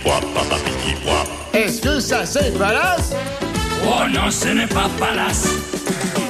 Est-ce que ça c'est Palace? Oh non, ce n'est pas Palace.